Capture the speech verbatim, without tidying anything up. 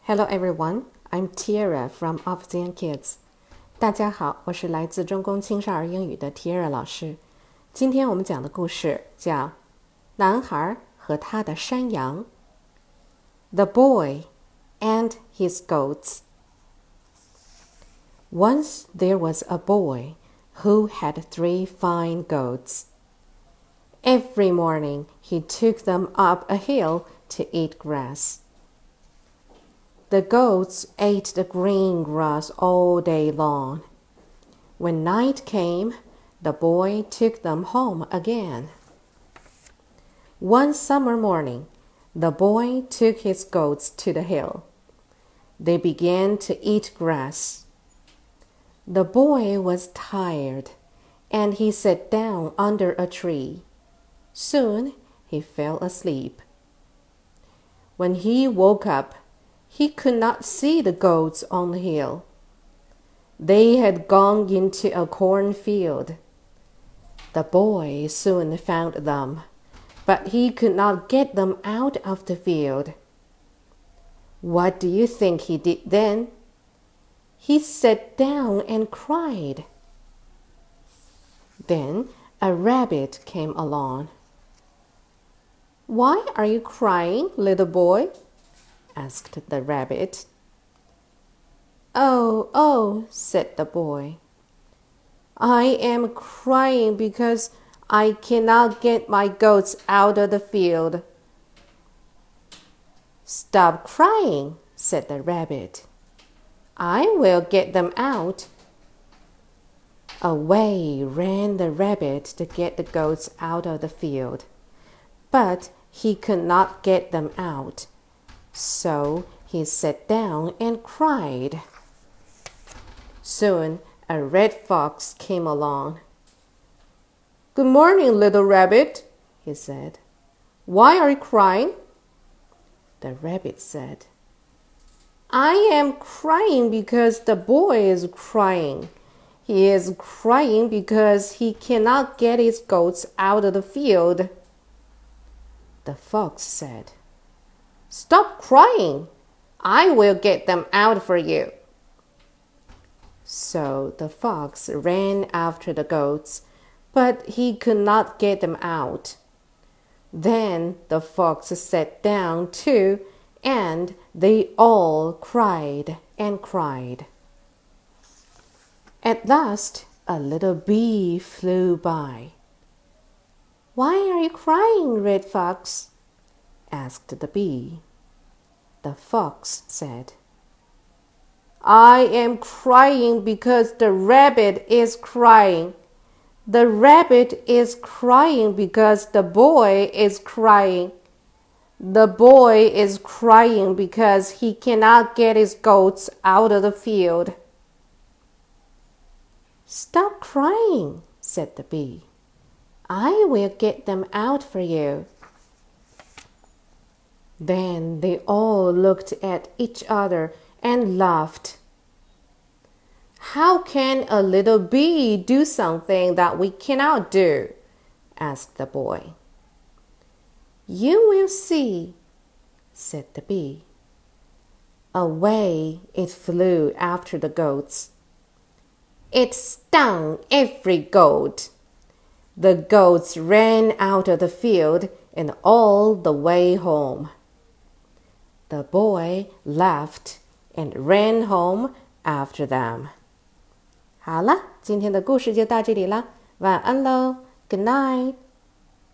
Hello everyone, I'm Tiara from Opzian Kids. 大家好，我是来自中公青少儿英语的 Tiara 老师。今天我们讲的故事叫《男孩和他的山羊》The Boy and His Goats. Once there was a boy who had three fine goats. Every morning he took them up a hill to eat grass. The goats ate the green grass all day long. When night came, the boy took them home again. One summer morning, the boy took his goats to the hill. They began to eat grass. The boy was tired, and he sat down under a tree. Soon he fell asleep. When he woke up, he could not see the goats on the hill. They had gone into a cornfield. The boy soon found them, but he could not get them out of the field. What do you think he did then? He sat down and cried. Then a rabbit came along. "Why are you crying, little boy?" asked the rabbit. "Oh, oh," said the boy. "I am crying because I cannot get my goats out of the field." "Stop crying," said the rabbit. "I will get them out." Away ran the rabbit to get the goats out of the field, but he could not get them out. So he sat down and cried. Soon a red fox came along. "Good morning, little rabbit," he said. "Why are you crying?" The rabbit said, "I am crying because the boy is crying. He is crying because he cannot get his goats out of the field." The fox said, "Stop crying. I will get them out for you." So the fox ran after the goats, but he could not get them out. Then the fox sat down too, and they all cried and cried. At last, a little bee flew by. "Why are you crying, Red Fox?" asked the bee. The fox said, "I am crying because the rabbit is crying. The rabbit is crying because the boy is crying. The boy is crying because he cannot get his goats out of the field." "Stop crying," said the bee. "I will get them out for you." Then they all looked at each other and laughed. "How can a little bee do something that we cannot do?" asked the boy. "You will see," said the bee. Away it flew after the goats. It stung every goat. The goats ran out of the field and all the way home. The boy laughed and ran home after them. 好了，今天的故事就到这里了，晚安喽 ，Good night。